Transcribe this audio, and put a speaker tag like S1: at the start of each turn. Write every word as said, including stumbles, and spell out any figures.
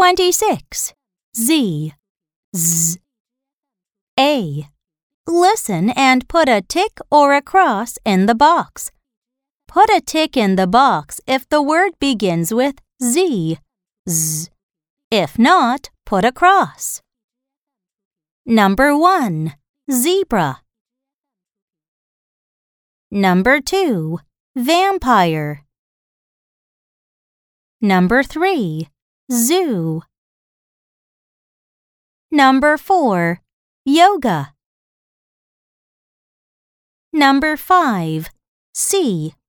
S1: twenty-six. Z. Z. A. Listen and put a tick or a cross in the box. Put a tick in the box if the word begins with Z. Z. If not, put a cross. Number one. Zebra. Number two. Vampire. Number three. Zoo. Number four. Yoga. Number five. Sea.